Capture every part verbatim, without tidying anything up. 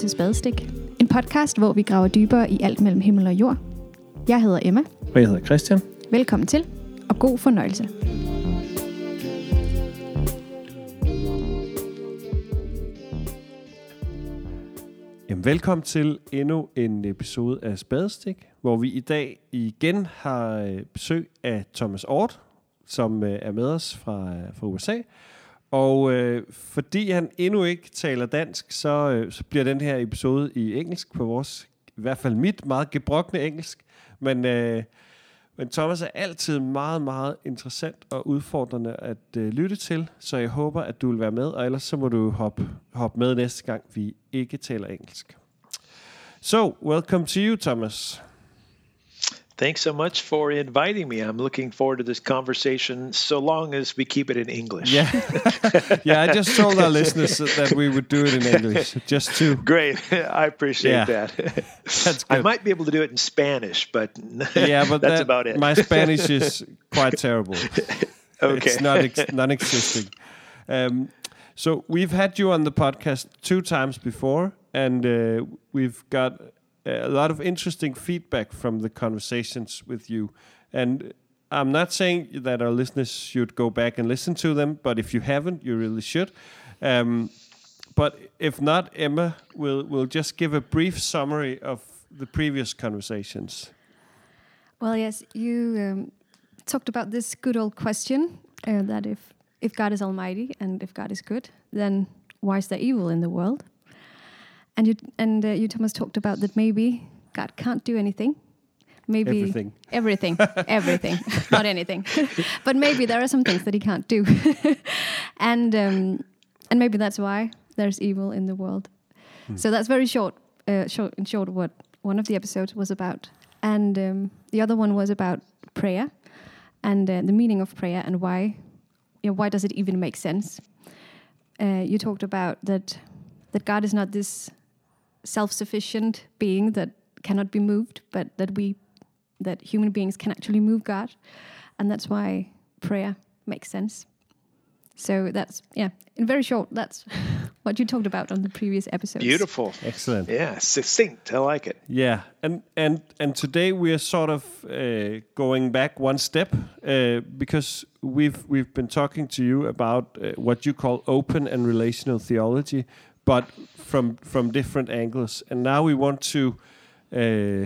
til Spadestik. En podcast, hvor vi graver dybere i alt mellem himmel og jord. Jeg hedder Emma. Og jeg hedder Christian. Velkommen til, og god fornøjelse. Jamen, velkommen til endnu en episode af Spadestik, hvor vi i dag igen har besøg af Thomas Ort, som er med os fra, fra U S A. Og øh, fordi han endnu ikke taler dansk, så, øh, så bliver den her episode i engelsk på vores, i hvert fald mit, meget gebrokne engelsk. Men, øh, men Thomas er altid meget, meget interessant og udfordrende at øh, lytte til, så jeg håber, at du vil være med, og ellers så må du hoppe, hoppe med næste gang, vi ikke taler engelsk. So, welcome to you, Thomas. Thanks so much for inviting me. I'm looking forward to this conversation so long as we keep it in English. Yeah, yeah. I just told our listeners that we would do it in English, just to... Great. I appreciate Yeah. that. That's good. I might be able to do it in Spanish, but Yeah, but that's that, about it. my Spanish is quite terrible. Okay. It's not ex- non-existing. Um, so we've had you on the podcast two times before, and uh, we've got a lot of interesting feedback from the conversations with you. And I'm not saying that our listeners should go back and listen to them, but if you haven't, you really should. Um, but if not, Emma will will just give a brief summary of the previous conversations. Well, yes, you um, talked about this good old question uh, that if, if God is almighty and if God is good, then why is there evil in the world? And you and uh, you, Thomas, talked about that maybe God can't do anything. Maybe Everything. Everything. everything. Not anything. But maybe there are some things that he can't do. and um, and maybe that's why there's evil in the world. Hmm. So that's very short, uh, short in short what one of the episodes was about. And um, the other one was about prayer and uh, the meaning of prayer and why, you know, why does it even make sense? Uh, you talked about that that God is not this self-sufficient being that cannot be moved, but that we, that human beings can actually move God, and that's why prayer makes sense. So that's, yeah, in very short, that's what you talked about on the previous episodes. Beautiful. Excellent. Yeah, succinct. I like it. Yeah, and and and today we are sort of uh, going back one step uh, because we've we've been talking to you about uh, what you call open and relational theology, but from from different angles. And now we want to uh,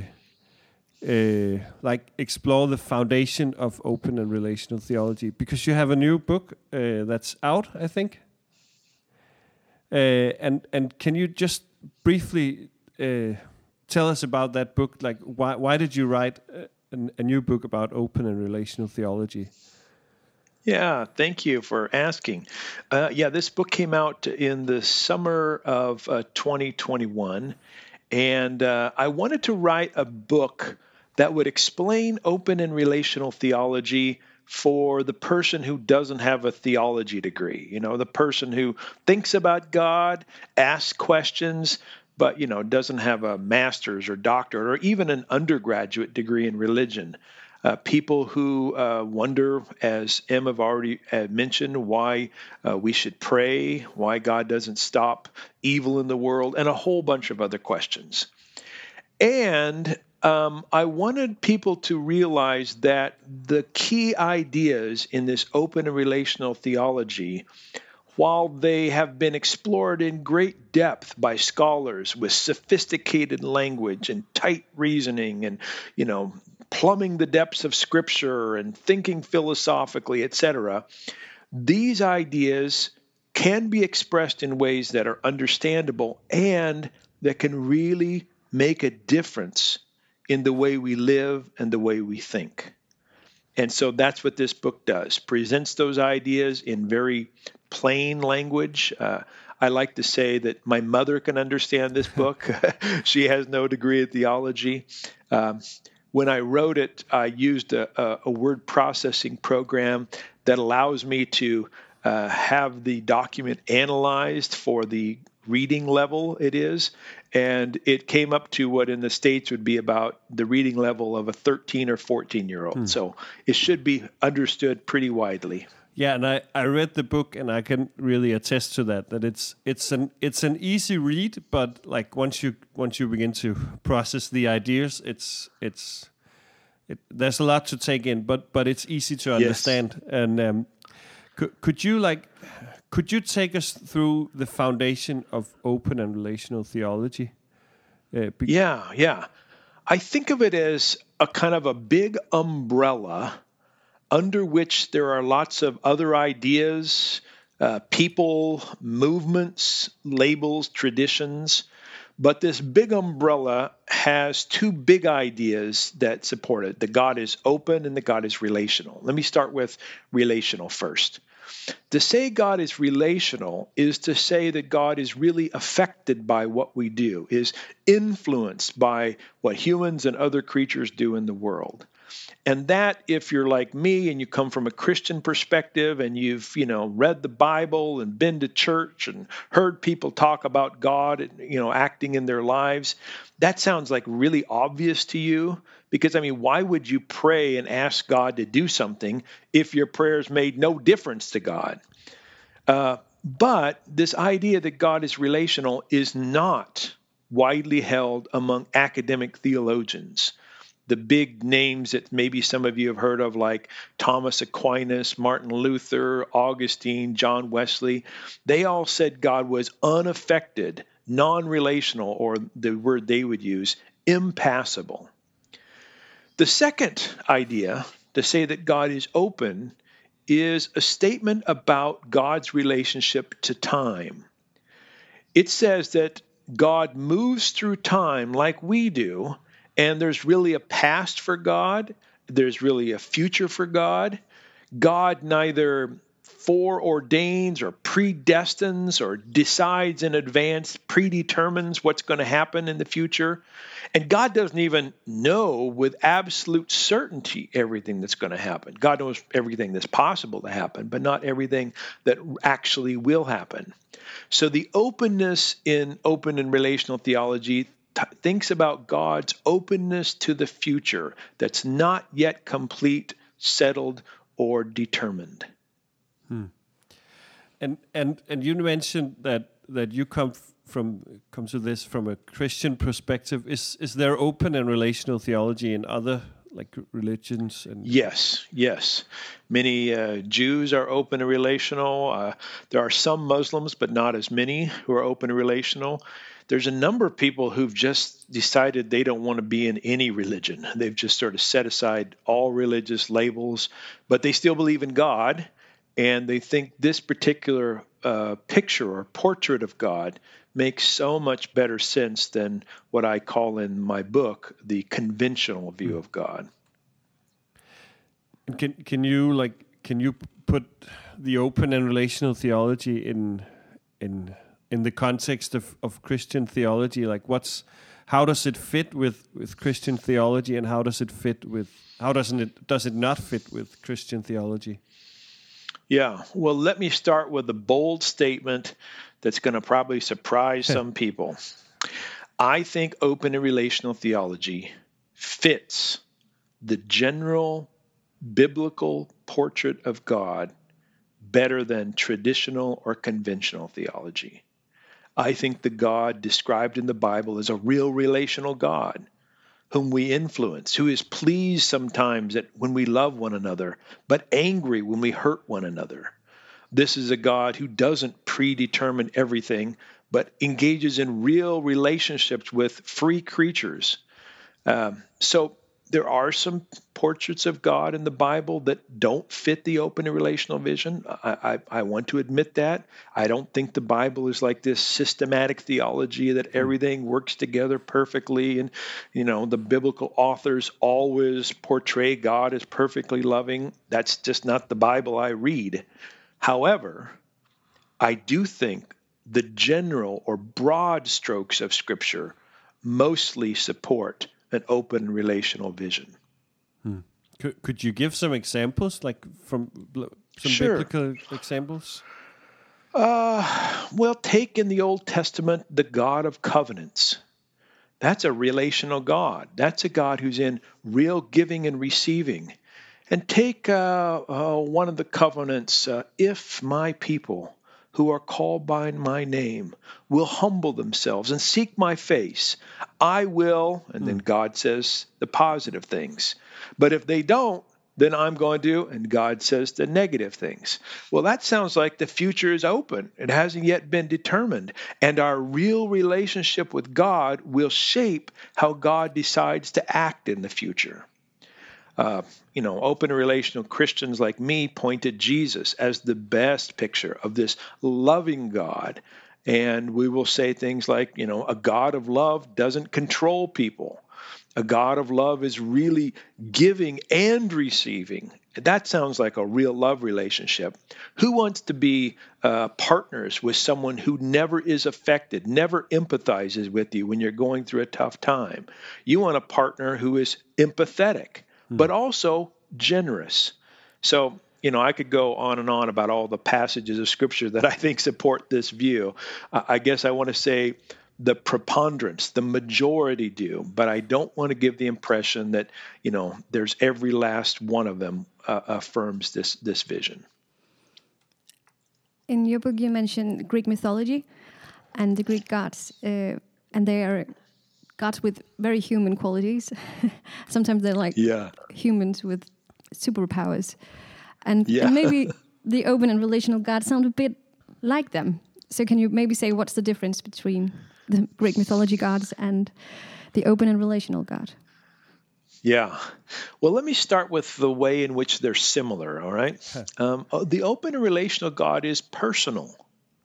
uh, like explore the foundation of open and relational theology, because you have a new book uh, that's out, I think. Uh, and and can you just briefly uh, tell us about that book? Like, why why did you write a, a new book about open and relational theology? Yeah, thank you for asking. Uh, yeah, this book came out in the summer of uh, twenty twenty-one, and uh, I wanted to write a book that would explain open and relational theology for the person who doesn't have a theology degree. You know, the person who thinks about God, asks questions, but, you know, doesn't have a master's or doctorate or even an undergraduate degree in religion. Uh, people who uh, wonder, as Em have already uh, mentioned, why uh, we should pray, why God doesn't stop evil in the world, and a whole bunch of other questions. And um, I wanted people to realize that the key ideas in this open and relational theology, while they have been explored in great depth by scholars with sophisticated language and tight reasoning and, you know, plumbing the depths of Scripture and thinking philosophically, et cetera, these ideas can be expressed in ways that are understandable and that can really make a difference in the way we live and the way we think. And so that's what this book does, presents those ideas in very plain language. Uh, I like to say that my mother can understand this book. She has no degree in theology. Um, when I wrote it, I used a, a, a word processing program that allows me to uh, have the document analyzed for the reading level it is. And it came up to what in the States would be about the reading level of a thirteen or fourteen year old. Hmm. So it should be understood pretty widely. Yeah, and I, I read the book, and I can really attest to that. That it's it's an it's an easy read, but like once you once you begin to process the ideas, it's it's it, there's a lot to take in, but but it's easy to understand. Yes. And um, could could you like could you take us through the foundation of open and relational theology? Uh, be- yeah, yeah. I think of it as a kind of a big umbrella under which there are lots of other ideas, uh, people, movements, labels, traditions. But this big umbrella has two big ideas that support it. The God is open and the God is relational. Let me start with relational first. To say God is relational is to say that God is really affected by what we do, is influenced by what humans and other creatures do in the world. And that, if you're like me and you come from a Christian perspective and you've, you know, read the Bible and been to church and heard people talk about God, and, you know, acting in their lives, that sounds like really obvious to you. Because, I mean, why would you pray and ask God to do something if your prayers made no difference to God? Uh, but this idea that God is relational is not widely held among academic theologians. The big names that maybe some of you have heard of, like Thomas Aquinas, Martin Luther, Augustine, John Wesley, they all said God was unaffected, non-relational, or the word they would use, impassible. The second idea, to say that God is open, is a statement about God's relationship to time. It says that God moves through time like we do, and there's really a past for God. There's really a future for God. God neither foreordains or predestines or decides in advance, predetermines what's going to happen in the future. And God doesn't even know with absolute certainty everything that's going to happen. God knows everything that's possible to happen, but not everything that actually will happen. So the openness in open and relational theology T- thinks about God's openness to the future that's not yet complete, settled, or determined. Hmm. And and and you mentioned that that you come f- from come to this from a Christian perspective. Is is there open and relational theology in other like religions? And yes, yes. Many uh, Jews are open and relational. Uh, there are some Muslims, but not as many, who are open and relational. There's a number of people who've just decided they don't want to be in any religion. They've just sort of set aside all religious labels, but they still believe in God, and they think this particular uh, picture or portrait of God makes so much better sense than what I call in my book the conventional view of God. Can can you like can you put the open and relational theology in in in the context of, of Christian theology? Like what's how does it fit with, with Christian theology, and how does it fit with how doesn't it does it not fit with Christian theology? Yeah, well, let me start with a bold statement that's going to probably surprise some people. I think open and relational theology fits the general biblical portrait of God better than traditional or conventional theology. I think the God described in the Bible is a real relational God whom we influence, who is pleased sometimes at when we love one another, but angry when we hurt one another. This is a God who doesn't predetermine everything, but engages in real relationships with free creatures. Um, so there are some portraits of God in the Bible that don't fit the open and relational vision. I, I, I want to admit that. I don't think the Bible is like this systematic theology that everything works together perfectly. And, you know, the biblical authors always portray God as perfectly loving. That's just not the Bible I read. However, I do think the general or broad strokes of Scripture mostly support an open relational vision. Hmm. Could could you give some examples, like from some sure. biblical examples? Uh, well, take in the Old Testament the God of covenants. That's a relational God. That's a God who's in real giving and receiving. And take uh, uh, one of the covenants, uh, if my people who are called by my name will humble themselves and seek my face, I will, and then God says the positive things. But if they don't, then I'm going to, and God says the negative things. Well, that sounds like the future is open. It hasn't yet been determined. And our real relationship with God will shape how God decides to act in the future. Uh, you know, open and relational Christians like me point to Jesus as the best picture of this loving God. And we will say things like, you know, a God of love doesn't control people. A God of love is really giving and receiving. That sounds like a real love relationship. Who wants to be uh, partners with someone who never is affected, never empathizes with you when you're going through a tough time? You want a partner who is empathetic, but also generous. So, you know, I could go on and on about all the passages of Scripture that I think support this view. Uh, I guess I want to say the preponderance, the majority do, but I don't want to give the impression that, you know, there's every last one of them uh, affirms this this vision. In your book, you mentioned Greek mythology and the Greek gods, uh, and they are gods with very human qualities. Sometimes they're like Yeah. humans with superpowers. And, Yeah. and maybe the open and relational gods sound a bit like them. So can you maybe say what's the difference between the Greek mythology gods and the open and relational God? Yeah. Well, let me start with the way in which they're similar, all right? Um, the open and relational God is personal.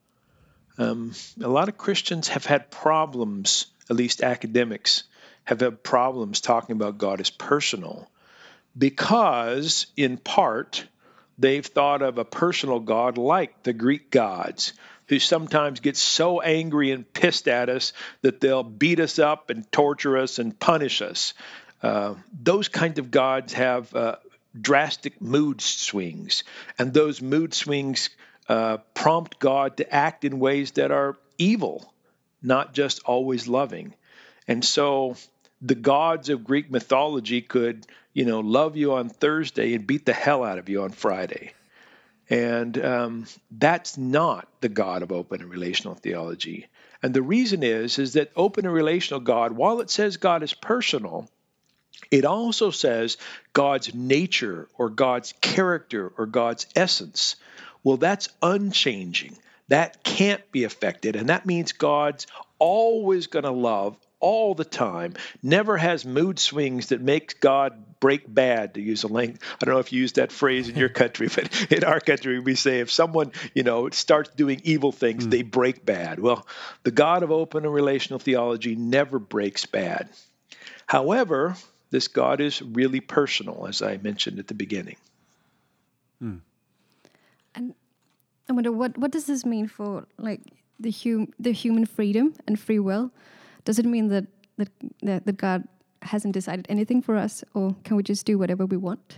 Um, a lot of Christians have had problems, at least academics, have had problems talking about God as personal because, in part, they've thought of a personal God like the Greek gods, who sometimes get so angry and pissed at us that they'll beat us up and torture us and punish us. Uh, those kinds of gods have uh, drastic mood swings, and those mood swings uh, prompt God to act in ways that are evil, not just always loving. And so the gods of Greek mythology could, you know, love you on Thursday and beat the hell out of you on Friday. And um, that's not the God of open and relational theology. And the reason is, is that open and relational God, while it says God is personal, it also says God's nature or God's character or God's essence. Well, that's unchanging. That can't be affected. And that means God's always going to love all the time, never has mood swings that makes God break bad, to use a link. I don't know if you use that phrase in your country, but in our country we say if someone, you know, starts doing evil things, mm. they break bad. Well, the God of open and relational theology never breaks bad. However, this God is really personal, as I mentioned at the beginning. Mm. And I wonder, what, what does this mean for like the hum, the human freedom and free will? Does it mean that, that that that God hasn't decided anything for us, or can we just do whatever we want?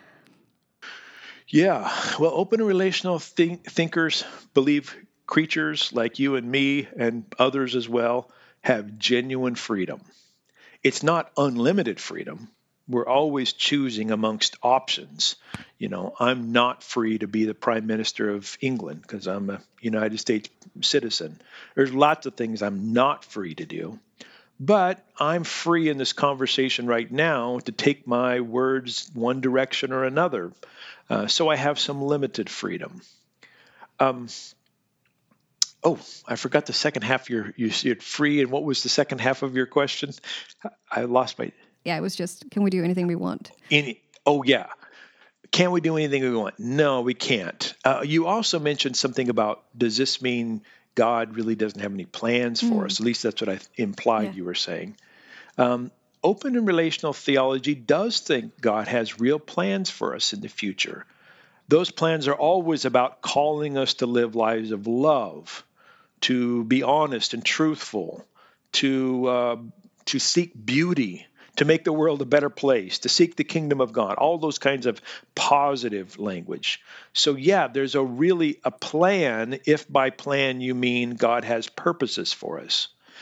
Yeah, well, open and relational think- thinkers believe creatures like you and me and others as well have genuine freedom. It's not unlimited freedom. We're always choosing amongst options. You know, I'm not free to be the Prime Minister of England because I'm a United States citizen. There's lots of things I'm not free to do. But I'm free in this conversation right now to take my words one direction or another. Uh, so I have some limited freedom. Um, oh, I forgot the second half of your, you said free, and what was the second half of your question? I lost my... Yeah, it was just, can we do anything we want? Any, oh, yeah. Can we do anything we want? No, we can't. Uh, you also mentioned something about, does this mean God really doesn't have any plans for mm. us? At least that's what I implied yeah. you were saying. Um, open and relational theology does think God has real plans for us in the future. Those plans are always about calling us to live lives of love, to be honest and truthful, to uh, to seek beauty, to make the world a better place, to seek the kingdom of God, all those kinds of positive language. So yeah, there's a really a plan, if by plan you mean God has purposes for us.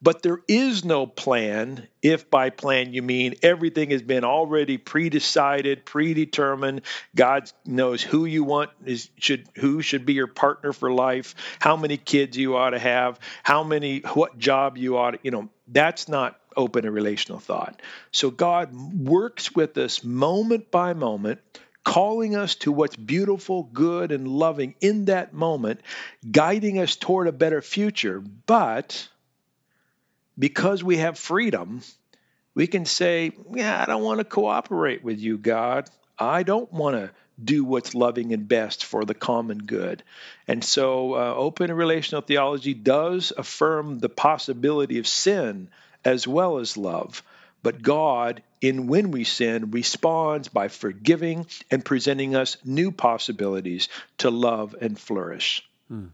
But there is no plan if by plan you mean everything has been already pre-decided, predetermined. God knows who you want, is should who should be your partner for life, how many kids you ought to have, how many, what job you ought to, you know, that's not open and relational thought. So God works with us moment by moment, calling us to what's beautiful, good, and loving in that moment, guiding us toward a better future. But because we have freedom, we can say, yeah, I don't want to cooperate with you, God. I don't want to do what's loving and best for the common good. And so uh, open and relational theology does affirm the possibility of sin as well as love. But God, in when we sin, responds by forgiving and presenting us new possibilities to love and flourish. Hmm.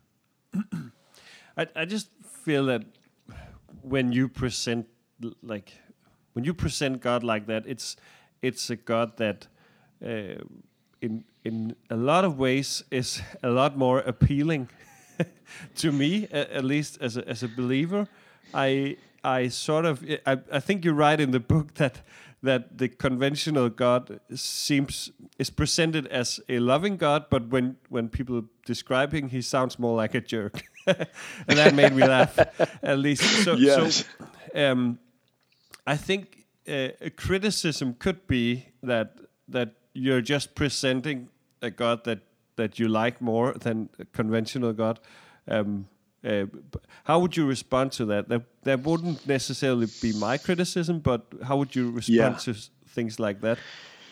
I, I just feel that when you present like when you present God like that, it's it's a God that uh, in in a lot of ways is a lot more appealing to me, at least as a, as a believer. I I sort of I, I think you write in the book that that the conventional God seems is presented as a loving God, but when when people describe him, he sounds more like a jerk. And that made me laugh, at least. So, yes. so um, I think uh, a criticism could be that that you're just presenting a God that, that you like more than a conventional God. Um, uh, how would you respond to that? that? That wouldn't necessarily be my criticism, but how would you respond Yeah. to things like that?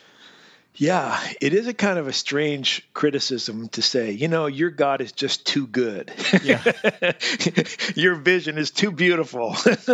Yeah, it is a kind of a strange criticism to say, you know, your God is just too good. Yeah. Your vision is too beautiful.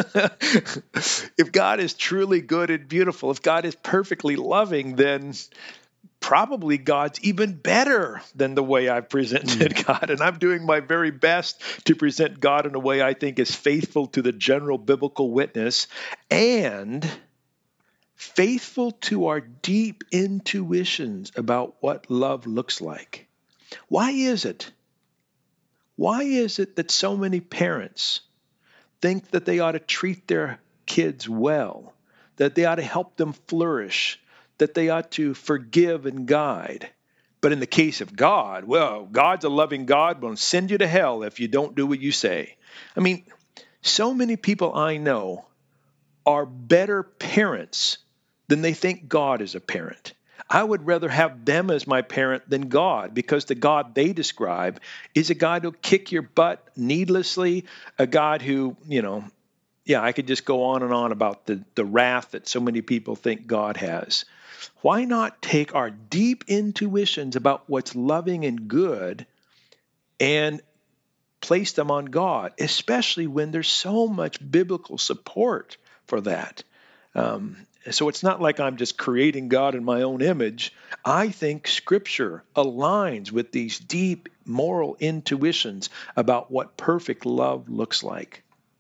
If God is truly good and beautiful, if God is perfectly loving, then probably God's even better than the way I've presented mm. God. And I'm doing my very best to present God in a way I think is faithful to the general biblical witness and faithful to our deep intuitions about what love looks like. Why is it? Why is it that so many parents think that they ought to treat their kids well, that they ought to help them flourish, that they ought to forgive and guide? But in the case of God, well, God's a loving God, will send you to hell if you don't do what you say. I mean, so many people I know are better parents than they think God is a parent. I would rather have them as my parent than God, because the God they describe is a God who'll kick your butt needlessly, a God who, you know, yeah, I could just go on and on about the, the wrath that so many people think God has. Why not take our deep intuitions about what's loving and good and place them on God, especially when there's so much biblical support for that? Um, so it's not like I'm just creating God in my own image. I think Scripture aligns with these deep moral intuitions about what perfect love looks like.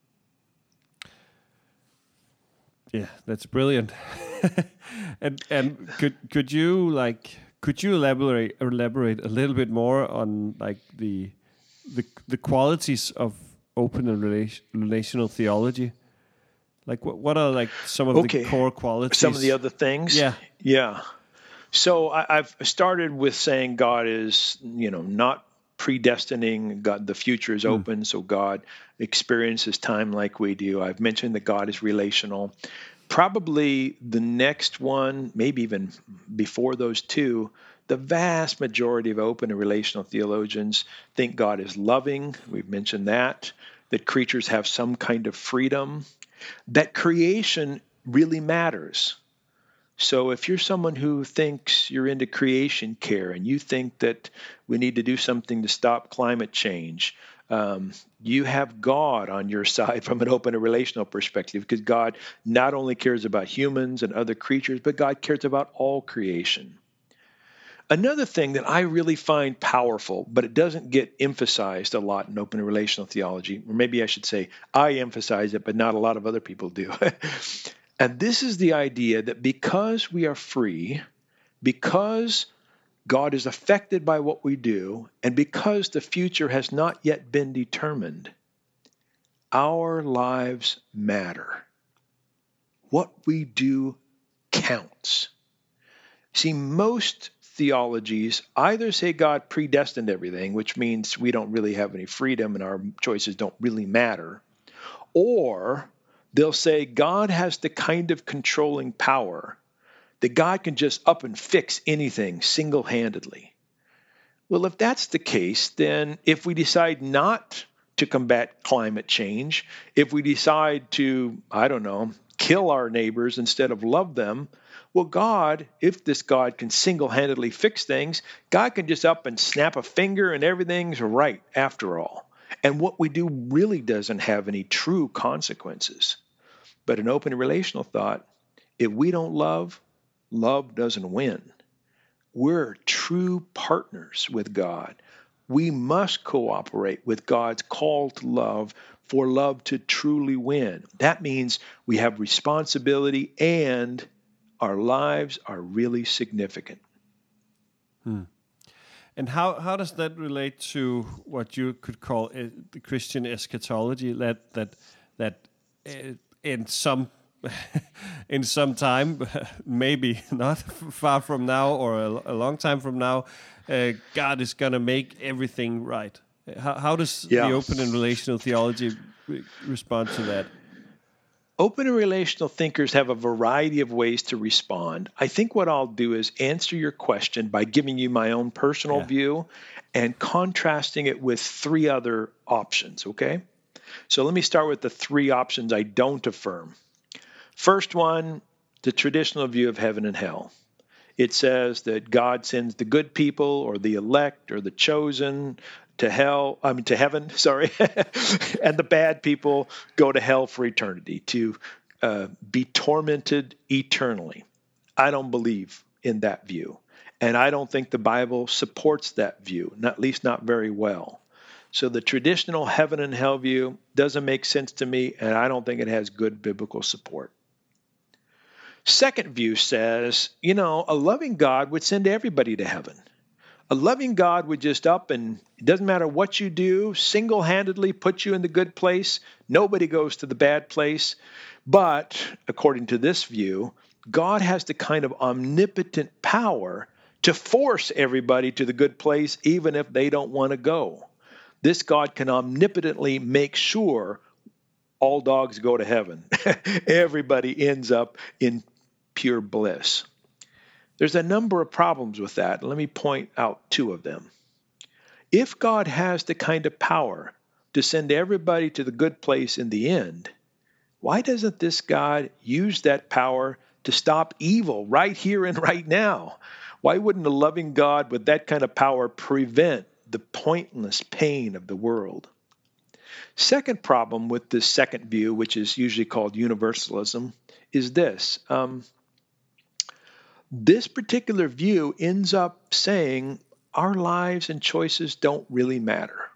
Yeah, that's brilliant. and and could could you like could you elaborate elaborate a little bit more on like the the the qualities of open and relation, relational theology? Like what what are like some of okay. the core qualities? Some of the other things? Yeah. Yeah. So I, I've started with saying God is, you know, not predestining. God, the future is open, mm. so God experiences time like we do. I've mentioned that God is relational. Probably the next one, maybe even before those two, the vast majority of open and relational theologians think God is loving. We've mentioned that. That creatures have some kind of freedom. That creation really matters. So if you're someone who thinks you're into creation care and you think that we need to do something to stop climate change, um, you have God on your side from an open and relational perspective, because God not only cares about humans and other creatures, but God cares about all creation. Another thing that I really find powerful, but it doesn't get emphasized a lot in open and relational theology, or maybe I should say I emphasize it, but not a lot of other people do. And this is the idea that because we are free, because God is affected by what we do, and because the future has not yet been determined, our lives matter. What we do counts. See, most theologies either say God predestined everything, which means we don't really have any freedom and our choices don't really matter, or they'll say God has the kind of controlling power that God can just up and fix anything single-handedly. Well, if that's the case, then if we decide not to combat climate change, if we decide to, I don't know, kill our neighbors instead of love them, well, God, if this God can single-handedly fix things, God can just up and snap a finger and everything's right after all. And what we do really doesn't have any true consequences. But an open relational thought, if we don't love, love doesn't win. We're true partners with God. We must cooperate with God's call to love for love to truly win. That means we have responsibility and our lives are really significant. Hmm. And how, how does that relate to what you could call uh, the Christian eschatology? That that that uh, in some in some time, maybe not far from now or a, a long time from now, uh, God is going to make everything right. How, how does yeah. the open and relational theology re- respond to that? Open and relational thinkers have a variety of ways to respond. I think what I'll do is answer your question by giving you my own personal yeah. view and contrasting it with three other options, okay? So let me start with the three options I don't affirm. First one, the traditional view of heaven and hell. It says that God sends the good people or the elect or the chosen to hell, I mean to heaven, sorry, and the bad people go to hell for eternity, to uh, be tormented eternally. I don't believe in that view, and I don't think the Bible supports that view, not, at least not very well. So the traditional heaven and hell view doesn't make sense to me, and I don't think it has good biblical support. Second view says, you know, a loving God would send everybody to heaven. A loving God would just up and it doesn't matter what you do, single-handedly put you in the good place. Nobody goes to the bad place. But according to this view, God has the kind of omnipotent power to force everybody to the good place, even if they don't want to go. This God can omnipotently make sure all dogs go to heaven. Everybody ends up in pure bliss. There's a number of problems with that. Let me point out two of them. If God has the kind of power to send everybody to the good place in the end, why doesn't this God use that power to stop evil right here and right now? Why wouldn't a loving God with that kind of power prevent the pointless pain of the world? Second problem with this second view, which is usually called universalism, is this. Um, This particular view ends up saying our lives and choices don't really matter.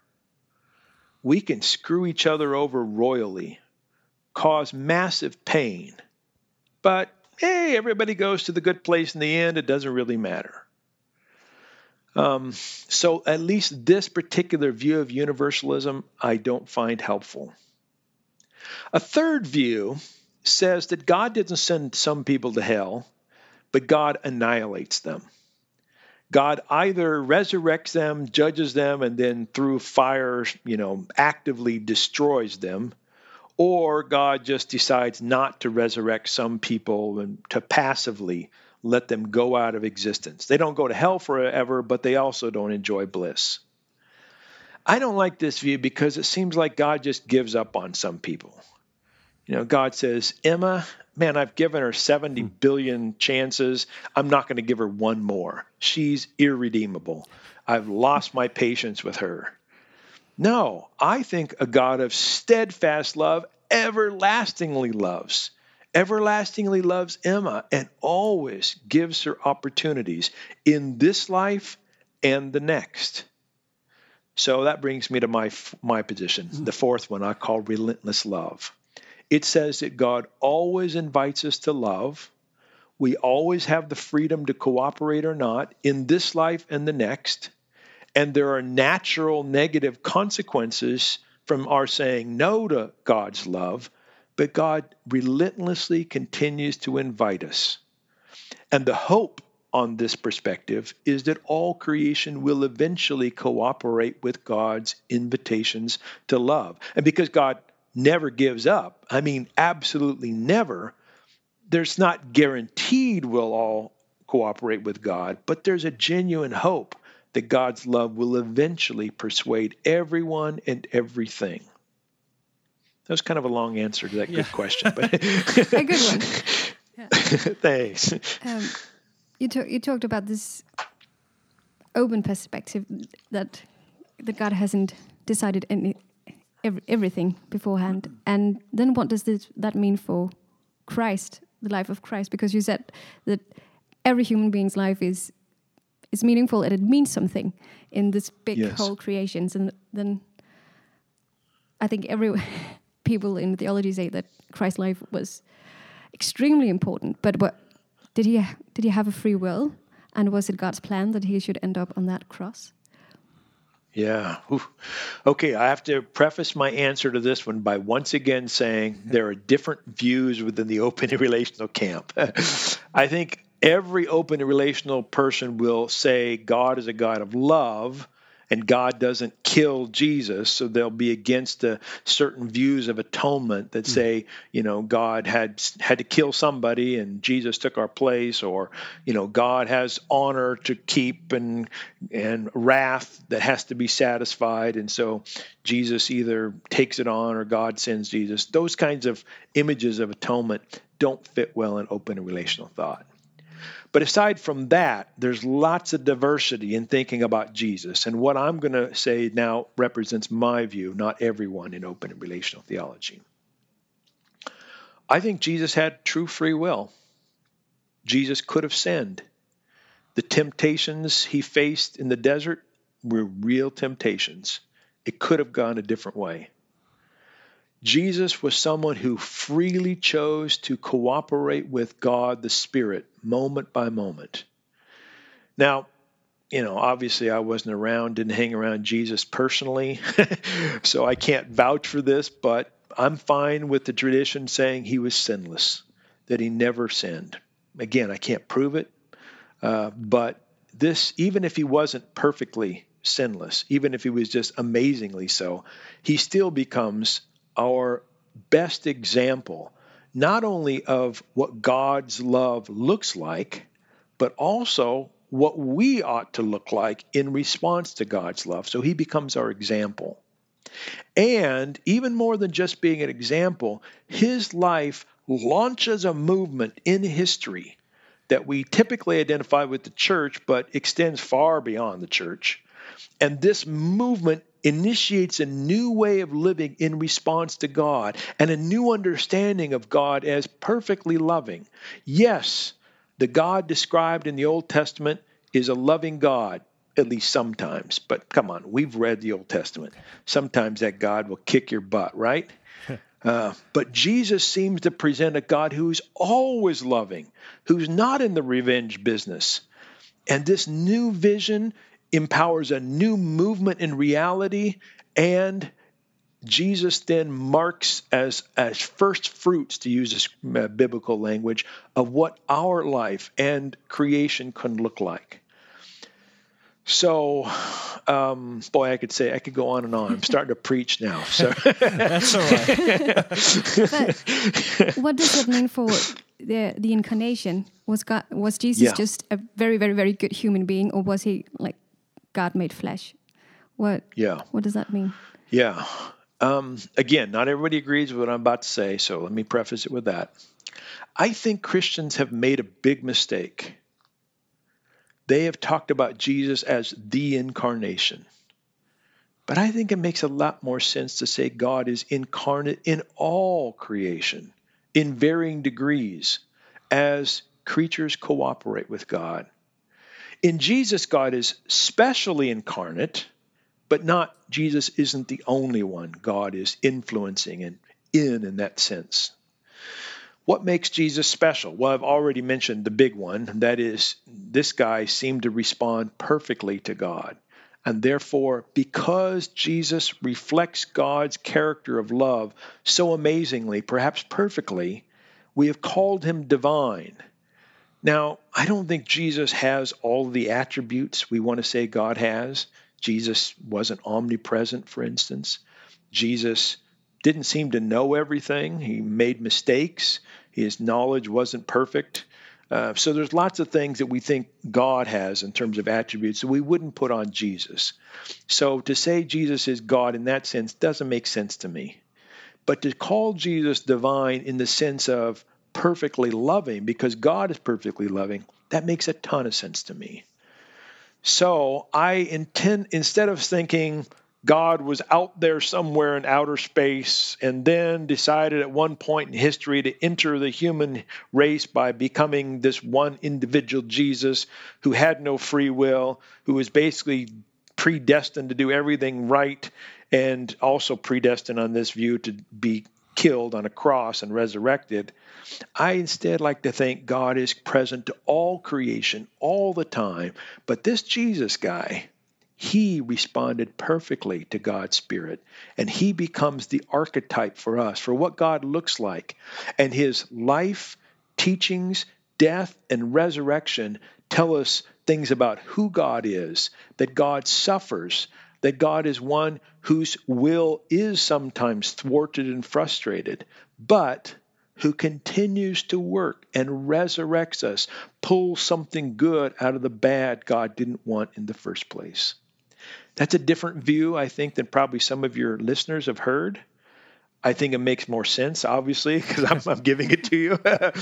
We can screw each other over royally, cause massive pain, but hey, everybody goes to the good place in the end. It doesn't really matter. Um, so at least this particular view of universalism, I don't find helpful. A third view says that God doesn't send some people to hell, but God annihilates them. God either resurrects them, judges them, and then through fire, you know, actively destroys them, or God just decides not to resurrect some people and to passively let them go out of existence. They don't go to hell forever, but they also don't enjoy bliss. I don't like this view because it seems like God just gives up on some people. You know, God says, Emma, man, I've given her seventy billion chances. I'm not going to give her one more. She's irredeemable. I've lost my patience with her. No, I think a God of steadfast love everlastingly loves. Everlastingly loves Emma and always gives her opportunities in this life and the next. So that brings me to my my position, the fourth one I call relentless love. It says that God always invites us to love. We always have the freedom to cooperate or not in this life and the next. And there are natural negative consequences from our saying no to God's love, but God relentlessly continues to invite us. And the hope on this perspective is that all creation will eventually cooperate with God's invitations to love. And because God never gives up, I mean, absolutely never, there's not guaranteed we'll all cooperate with God, but there's a genuine hope that God's love will eventually persuade everyone and everything. That was kind of a long answer to that Yeah. good question, but A good one. thanks. Um, you, talk, you talked about this open perspective that that God hasn't decided any every, everything beforehand, and then what does this, that mean for Christ, the life of Christ? Because you said that every human being's life is is meaningful and it means something in this big Yes. whole creations, and then I think every people in theology say that Christ's life was extremely important. But what did he did he have a free will, and was it God's plan that he should end up on that cross? Yeah. Oof. Okay, I have to preface my answer to this one by once again saying there are different views within the open and relational camp. I think every open and relational person will say God is a God of love, and God doesn't kill Jesus, so they'll be against the certain views of atonement that say, you know, God had had to kill somebody and Jesus took our place, or, you know, God has honor to keep and and wrath that has to be satisfied, and so Jesus either takes it on or God sends Jesus. Those kinds of images of atonement don't fit well in open and relational thought. But aside from that, there's lots of diversity in thinking about Jesus. And what I'm going to say now represents my view, not everyone in open and relational theology. I think Jesus had true free will. Jesus could have sinned. The temptations he faced in the desert were real temptations. It could have gone a different way. Jesus was someone who freely chose to cooperate with God the Spirit moment by moment. Now, you know, obviously I wasn't around, didn't hang around Jesus personally, so I can't vouch for this, but I'm fine with the tradition saying he was sinless, that he never sinned. Again, I can't prove it, uh, but this, even if he wasn't perfectly sinless, even if he was just amazingly so, he still becomes our best example, not only of what God's love looks like, but also what we ought to look like in response to God's love. So he becomes our example. And even more than just being an example, his life launches a movement in history that we typically identify with the church, but extends far beyond the church. And this movement initiates a new way of living in response to God and a new understanding of God as perfectly loving. Yes, the God described in the Old Testament is a loving God, at least sometimes. But come on, we've read the Old Testament. Sometimes that God will kick your butt, right? Uh, but Jesus seems to present a God who's always loving, who's not in the revenge business. And this new vision empowers a new movement in reality, and Jesus then marks as, as first fruits, to use this uh, biblical language, of what our life and creation can look like. So, um, boy, I could say, I could go on and on. I'm starting to preach now. So That's all right. But what does that mean for the the incarnation? Was God, was Jesus Yeah. just a very, very, very good human being, or was he like God made flesh? What? Yeah. What does that mean? Yeah. Um, again, not everybody agrees with what I'm about to say, so let me preface it with that. I think Christians have made a big mistake. They have talked about Jesus as the incarnation. But I think it makes a lot more sense to say God is incarnate in all creation, in varying degrees, as creatures cooperate with God. In Jesus, God is specially incarnate, but not Jesus isn't the only one God is influencing and in in that sense. What makes Jesus special? Well, I've already mentioned the big one. That is, this guy seemed to respond perfectly to God. And therefore, because Jesus reflects God's character of love so amazingly, perhaps perfectly, we have called him divine. Now, I don't think Jesus has all the attributes we want to say God has. Jesus wasn't omnipresent, for instance. Jesus didn't seem to know everything. He made mistakes. His knowledge wasn't perfect. Uh, so there's lots of things that we think God has in terms of attributes that we wouldn't put on Jesus. So to say Jesus is God in that sense doesn't make sense to me. But to call Jesus divine in the sense of perfectly loving, because God is perfectly loving, that makes a ton of sense to me. So I intend, instead of thinking God was out there somewhere in outer space and then decided at one point in history to enter the human race by becoming this one individual Jesus who had no free will, who was basically predestined to do everything right and also predestined on this view to be killed on a cross and resurrected. I instead like to think God is present to all creation all the time. But this Jesus guy, he responded perfectly to God's Spirit, and he becomes the archetype for us, for what God looks like. And his life, teachings, death, and resurrection tell us things about who God is, that God suffers, that God is one whose will is sometimes thwarted and frustrated, but who continues to work and resurrects us, pulls something good out of the bad God didn't want in the first place. That's a different view, I think, than probably some of your listeners have heard. I think it makes more sense, obviously, because I'm, I'm giving it to you.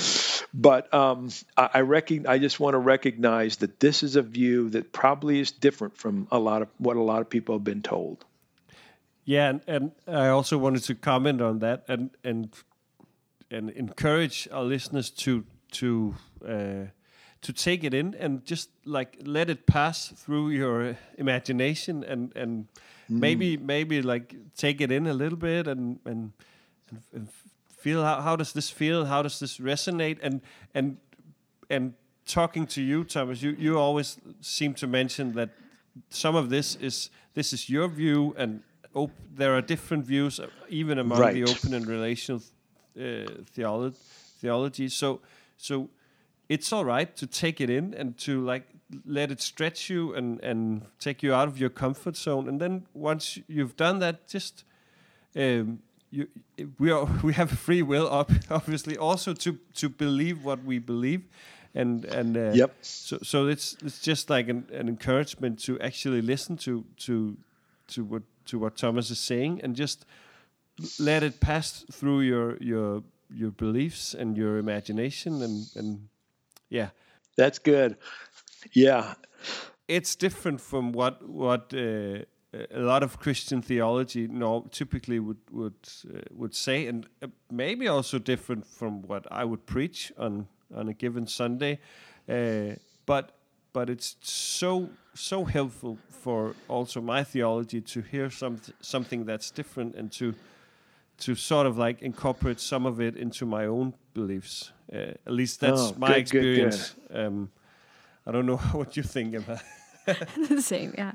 But um, I, I, reckon, I just want to recognize that this is a view that probably is different from a lot of what a lot of people have been told. Yeah, and, and I also wanted to comment on that and and and encourage our listeners to to uh, to take it in and just like let it pass through your imagination and and mm. maybe maybe like take it in a little bit and and, and, and feel how, how does this feel, how does this resonate, and and and talking to you, Thomas, you you always seem to mention that some of this is this is your view, and op- there are different views even among right. the open and relational uh, theology theology so so it's all right to take it in and to like let it stretch you and, and take you out of your comfort zone. And then once you've done that, just um, you, we are we have a free will, obviously, also to, to believe what we believe, and and uh, yep. So so it's it's just like an, an encouragement to actually listen to to to what to what Thomas is saying and just let it pass through your your your beliefs and your imagination and and. Yeah, that's good. Yeah, it's different from what what uh, a lot of Christian theology no, typically would would uh, would say, and uh, maybe also different from what I would preach on on a given Sunday. Uh, but but it's so so helpful for also my theology to hear some something that's different and to to sort of like incorporate some of it into my own beliefs. Uh, at least that's oh, my good, experience. Good, good. Um, I don't know what you think about. The same, yeah.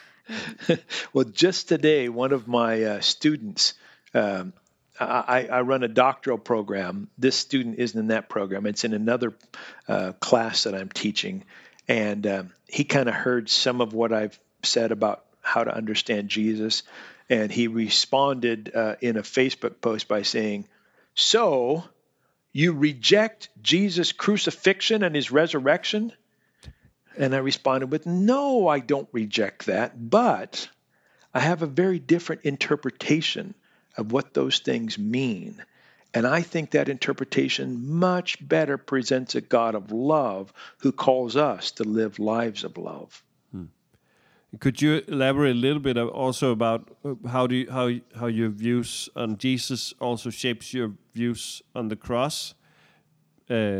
Well, just today, one of my uh, students, um, I, I run a doctoral program. This student isn't in that program. It's in another uh, class that I'm teaching. And um, he kind of heard some of what I've said about how to understand Jesus. And he responded uh, in a Facebook post by saying, so you reject Jesus' crucifixion and his resurrection? And I responded with, no, I don't reject that, but I have a very different interpretation of what those things mean. And I think that interpretation much better presents a God of love who calls us to live lives of love. Hmm. Could you elaborate a little bit also about how do you, how how your views on Jesus also shapes your views on the cross? Uh,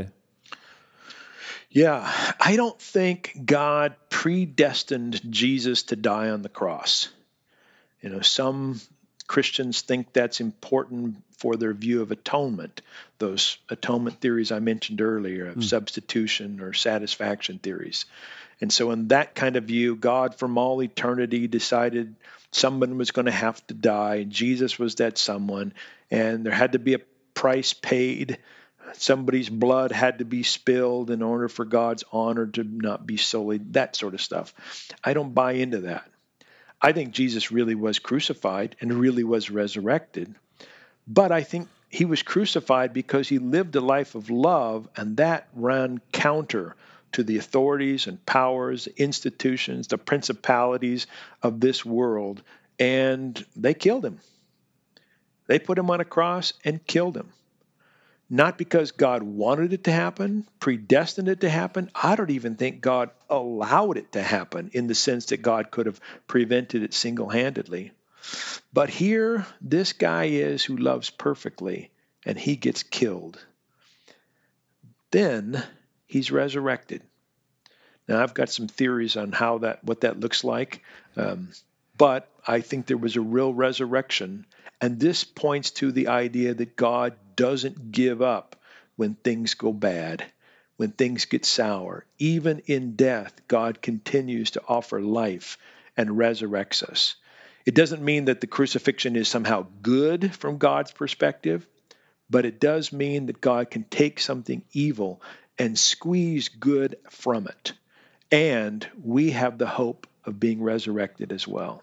yeah, I don't think God predestined Jesus to die on the cross. You know, some Christians think that's important for their view of atonement, those atonement theories I mentioned earlier of mm. substitution or satisfaction theories. And so in that kind of view, God from all eternity decided someone was going to have to die. Jesus was that someone, and there had to be a price paid. Somebody's blood had to be spilled in order for God's honor to not be sullied, that sort of stuff. I don't buy into that. I think Jesus really was crucified and really was resurrected. But I think he was crucified because he lived a life of love, and that ran counter to the authorities and powers, institutions, the principalities of this world, and they killed him. They put him on a cross and killed him. Not because God wanted it to happen, predestined it to happen. I don't even think God allowed it to happen in the sense that God could have prevented it single-handedly. But here, this guy is who loves perfectly, and he gets killed. Then he's resurrected. Now, I've got some theories on how that, what that looks like, um, but I think there was a real resurrection, and this points to the idea that God doesn't give up when things go bad, when things get sour. Even in death, God continues to offer life and resurrects us. It doesn't mean that the crucifixion is somehow good from God's perspective, but it does mean that God can take something evil and squeeze good from it. And we have the hope of being resurrected as well.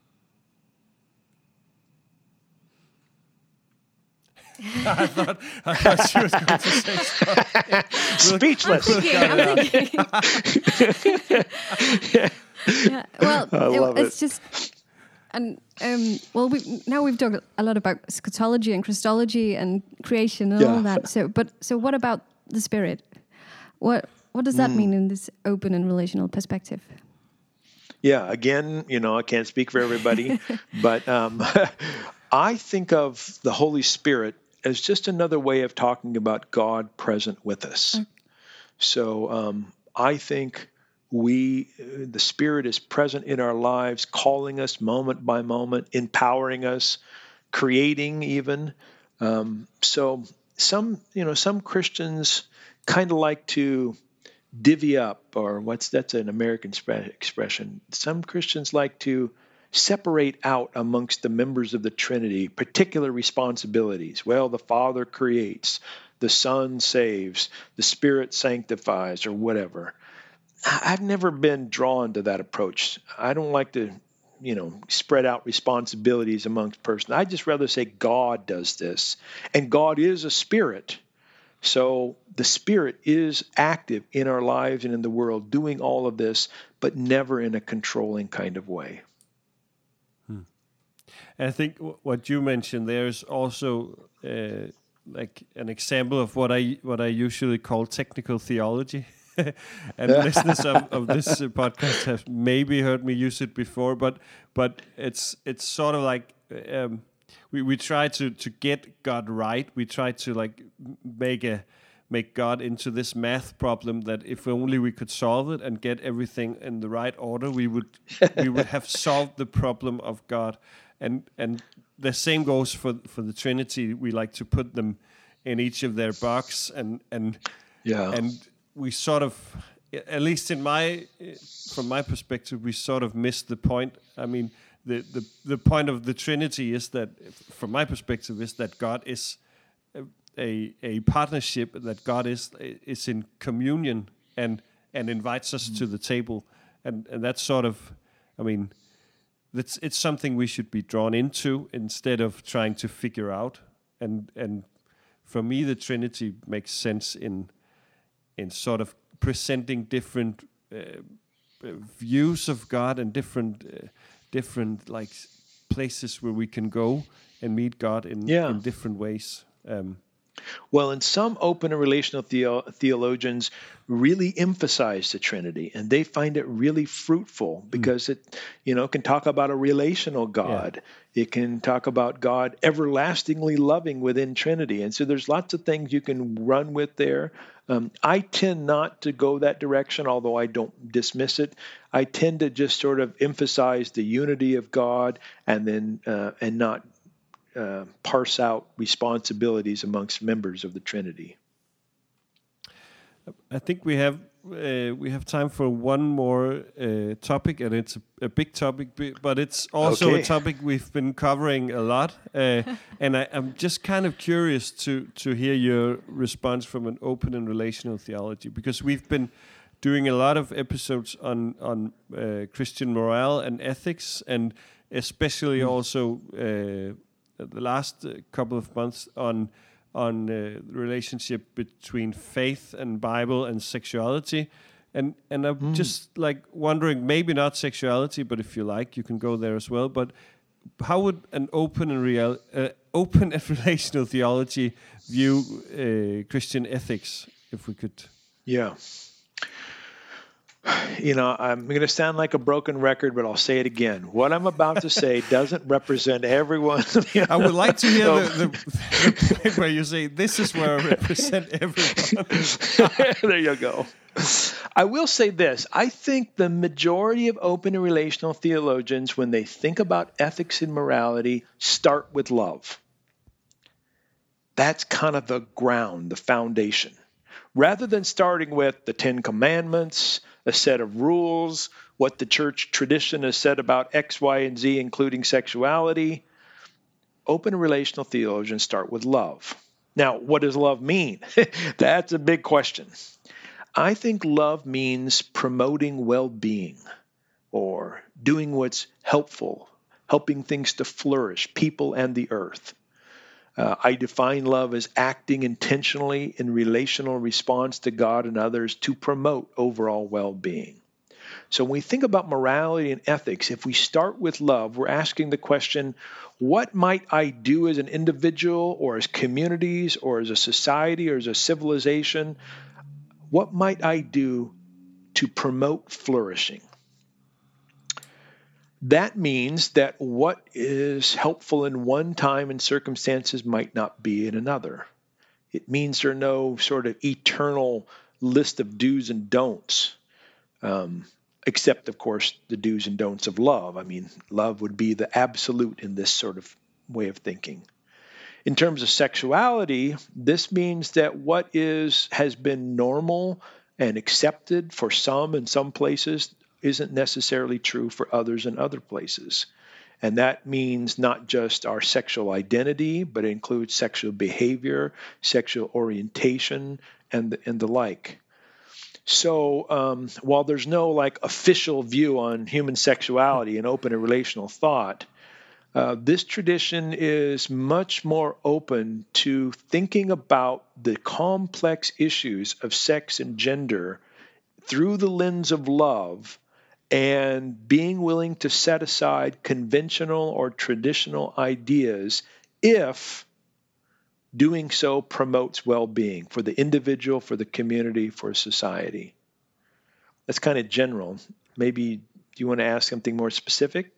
I thought I thought she was going to say something. Speechless. I'm thinking, I'm thinking. Yeah, well, I love it, it's it. just, and um, well, we now we've talked a lot about eschatology and Christology and creation and Yeah. all that. So, but so what about the Spirit? What what does that Mm. mean in this open and relational perspective? Yeah, again, you know, I can't speak for everybody, but um, I think of the Holy Spirit as just another way of talking about God present with us. Mm. So um, I think we, uh, the Spirit is present in our lives, calling us moment by moment, empowering us, creating even. Um, so some, you know, some Christians kind of like to divvy up, or what's that's an American spe- expression. Some Christians like to separate out amongst the members of the Trinity particular responsibilities. Well, the Father creates, the Son saves, the Spirit sanctifies, or whatever. I- I've never been drawn to that approach. I don't like to, you know, spread out responsibilities amongst persons. I just rather say God does this, and God is a spirit. So the Spirit is active in our lives and in the world, doing all of this, but never in a controlling kind of way. And I think w- what you mentioned there is also uh, like an example of what I what I usually call technical theology. And listeners of, of this uh, podcast have maybe heard me use it before, but but it's it's sort of like um, we we try to to get God right. We try to like m- make a make God into this math problem that if only we could solve it and get everything in the right order, we would we would have solved the problem of God. And and the same goes for for the Trinity. We like to put them in each of their box, and and Yeah. and we sort of, at least in my from my perspective, we sort of missed the point. I mean, the the the point of the Trinity is that, from my perspective, is that God is a a partnership, that God is is in communion and and invites us to the table, and and that's sort of, I mean, that's it's something we should be drawn into instead of trying to figure out. And and for me, the Trinity makes sense in in sort of presenting different uh, views of God and different uh, different like places where we can go and meet God in Yeah. in different ways. Um, Well, and some open and relational theo- theologians really emphasize the Trinity, and they find it really fruitful because it, you know, can talk about a relational God. It can talk about God everlastingly loving within Trinity, and so there's lots of things you can run with there. Um, I tend not to go that direction, although I don't dismiss it. I tend to just sort of emphasize the unity of God, and then uh, and not Uh, parse out responsibilities amongst members of the Trinity. I think we have uh, we have time for one more uh, topic, and it's a, a big topic, but it's also okay. a topic we've been covering a lot. Uh, and I, I'm just kind of curious to to hear your response from an open and relational theology, because we've been doing a lot of episodes on on uh, Christian morale and ethics, and especially mm. also uh, the last uh, couple of months on. on uh, the relationship between faith and Bible and sexuality. And and I'm mm. just like wondering, maybe not sexuality, but if you like, you can go there as well. But how would an open and real, uh, open and relational theology view uh, Christian ethics, if we could? Yeah. You know, I'm going to sound like a broken record, but I'll say it again. What I'm about to say doesn't represent everyone. You know? I would like to hear the, the, the point where you say, this is where I represent everyone. There you go. I will say this. I think the majority of open and relational theologians, when they think about ethics and morality, start with love. That's kind of the ground, the foundation. Rather than starting with the Ten Commandments, a set of rules, what the church tradition has said about X, Y, and Z, including sexuality, open and relational theologians start with love. Now, what does love mean? That's a big question. I think love means promoting well-being or doing what's helpful, helping things to flourish, people and the earth. Uh, I define love as acting intentionally in relational response to God and others to promote overall well-being. So when we think about morality and ethics, if we start with love, we're asking the question, what might I do as an individual or as communities or as a society or as a civilization? What might I do to promote flourishing? That means that what is helpful in one time and circumstances might not be in another. It means there are no sort of eternal list of do's and don'ts, um, except, of course, the do's and don'ts of love. I mean, love would be the absolute in this sort of way of thinking. In terms of sexuality, this means that what is has been normal and accepted for some in some places isn't necessarily true for others in other places. And that means not just our sexual identity, but it includes sexual behavior, sexual orientation, and the, and the like. So um, while there's no like official view on human sexuality and open and relational thought, uh, this tradition is much more open to thinking about the complex issues of sex and gender through the lens of love, and being willing to set aside conventional or traditional ideas if doing so promotes well-being for the individual, for the community, for society. That's kind of general. Maybe do you want to ask something more specific?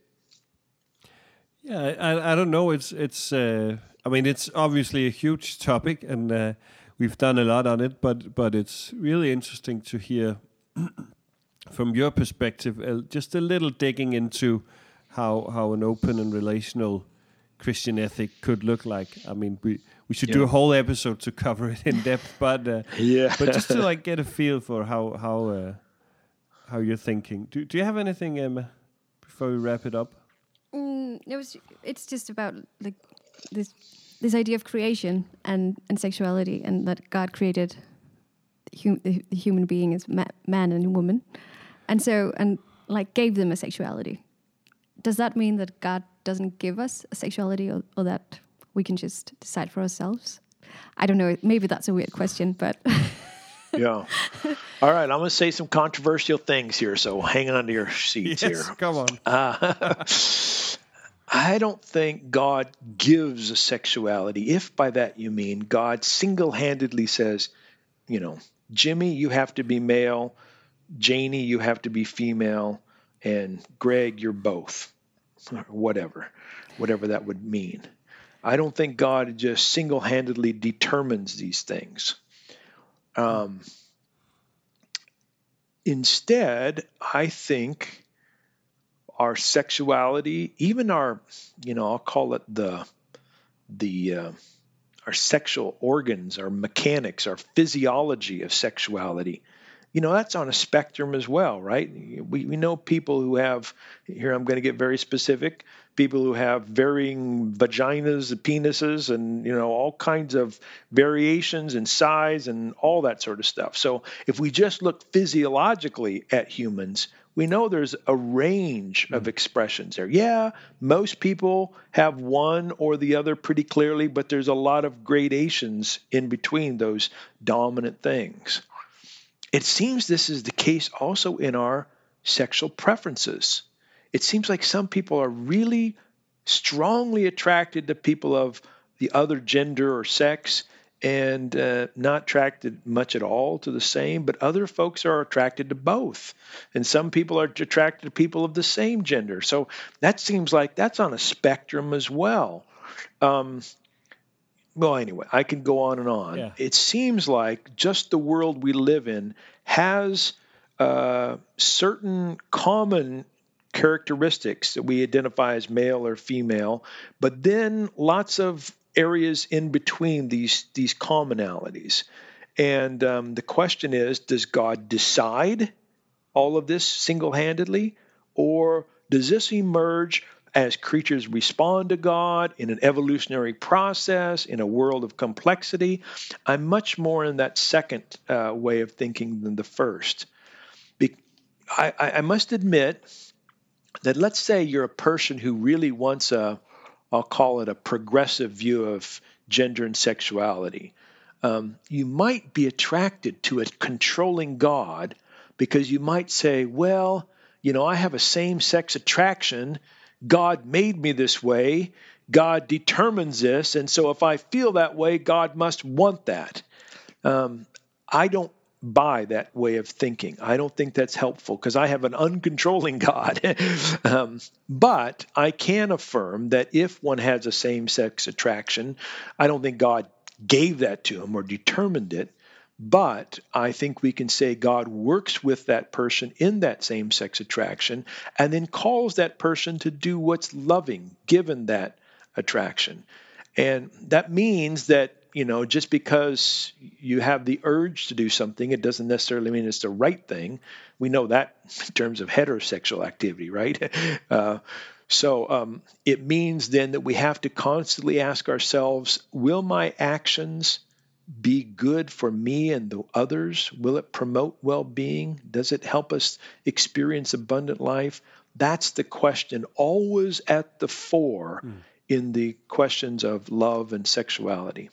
Yeah, I, I don't know. It's it's. Uh, I mean, it's obviously a huge topic, and uh, we've done a lot on it. But but it's really interesting to hear. From your perspective, uh, just a little digging into how how an open and relational Christian ethic could look like. I mean, we, we should yeah. do a whole episode to cover it in depth, but uh, yeah, but just to like get a feel for how how uh, how you're thinking. Do do you have anything, Emma, before we wrap it up? Mm, it was. It's just about like this this idea of creation and and sexuality, and that God created hum, the, the human being as ma- man and woman. And so, and like gave them a sexuality. Does that mean that God doesn't give us a sexuality, or, or that we can just decide for ourselves? I don't know. Maybe that's a weird question, but... Yeah. All right. I'm going to say some controversial things here, so hang on to your seats yes, here. Come on. Uh, I don't think God gives a sexuality, if by that you mean God single-handedly says, you know, Jimmy, you have to be male, Janie, you have to be female, and Greg, you're both, or whatever, whatever that would mean. I don't think God just single-handedly determines these things. Um, instead, I think our sexuality, even our, you know, I'll call it the, the, uh, our sexual organs, our mechanics, our physiology of sexuality you know, that's on a spectrum as well, right? We, we know people who have, here I'm going to get very specific, people who have varying vaginas, penises, and, you know, all kinds of variations in size and all that sort of stuff. So if we just look physiologically at humans, we know there's a range of expressions there. Yeah, most people have one or the other pretty clearly, but there's a lot of gradations in between those dominant things. It seems this is the case also in our sexual preferences. It seems like some people are really strongly attracted to people of the other gender or sex, and uh, not attracted much at all to the same, but other folks are attracted to both. And some people are attracted to people of the same gender. So that seems like that's on a spectrum as well. Um, well, anyway, I can go on and on. Yeah. It seems like just the world we live in has uh, certain common characteristics that we identify as male or female, but then lots of areas in between these these commonalities. And um, the question is, does God decide all of this single-handedly, or does this emerge as creatures respond to God in an evolutionary process, in a world of complexity? I'm much more in that second uh, way of thinking than the first. Be- I, I must admit that, let's say you're a person who really wants a, I'll call it a progressive view of gender and sexuality. Um, you might be attracted to a controlling God because you might say, well, you know, I have a same-sex attraction. God made me this way. God determines this. And so if I feel that way, God must want that. Um, I don't buy that way of thinking. I don't think that's helpful because I have an uncontrolling God. um, but I can affirm that if one has a same-sex attraction, I don't think God gave that to him or determined it, but I think we can say God works with that person in that same-sex attraction and then calls that person to do what's loving given that attraction. And that means that, you know, just because you have the urge to do something, it doesn't necessarily mean it's the right thing. We know that in terms of heterosexual activity, right? Uh, so um, it means then that we have to constantly ask ourselves, will my actions be good for me and the others? Will it promote well-being? Does it help us experience abundant life? That's the question, always at the fore mm. in the questions of love and sexuality.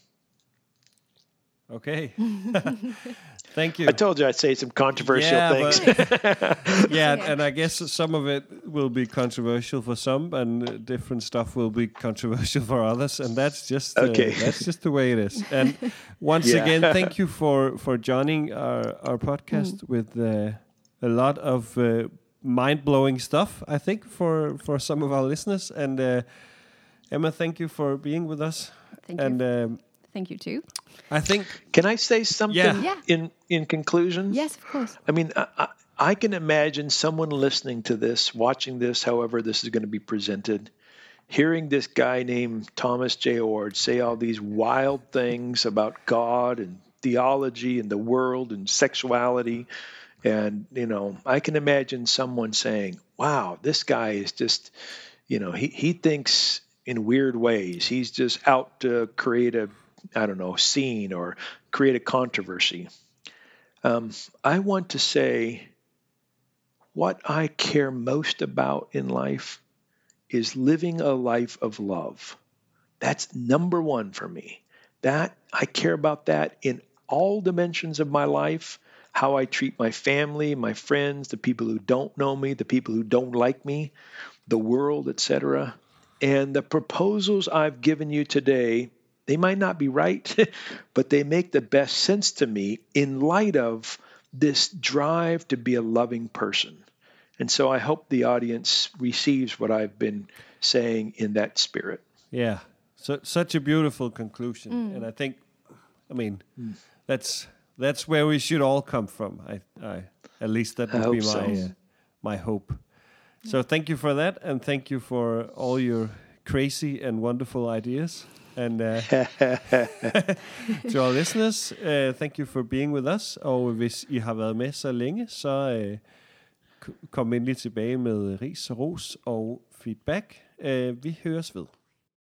Okay. Thank you. I told you I'd say some controversial yeah, things. But, yeah, and I guess some of it will be controversial for some, and different stuff will be controversial for others, and that's just uh, okay. that's just the way it is. And once yeah. again, thank you for for joining our our podcast mm. with uh, a lot of uh, mind blowing stuff. I think for for some of our listeners. And uh, Emma, thank you for being with us. Thank and, you. Um, Thank you too. I think. Can I say something yeah. Yeah. in in conclusion? Yes, of course. I mean, I, I, I can imagine someone listening to this, watching this, however this is going to be presented, hearing this guy named Thomas J. Oord say all these wild things about God and theology and the world and sexuality. And, you know, I can imagine someone saying, wow, this guy is just, you know, he, he thinks in weird ways. He's just out to create a, I don't know, scene or create a controversy. Um, I want to say what I care most about in life is living a life of love. That's number one for me. That I care about that in all dimensions of my life, how I treat my family, my friends, the people who don't know me, the people who don't like me, the world, et cetera. And the proposals I've given you today, they might not be right, but they make the best sense to me in light of this drive to be a loving person. And so I hope the audience receives what I've been saying in that spirit. Yeah, so, such a beautiful conclusion. Mm. And I think, I mean, mm. that's that's where we should all come from. I, I at least that would be my, so. uh, my hope. So thank you for that, and thank you for all your crazy and wonderful ideas. And uh, to our listeners, uh, thank you for being with us. Og hvis I har været med så længe, så uh, kom endelig tilbage med ris og ros og feedback. Uh, vi høres ved.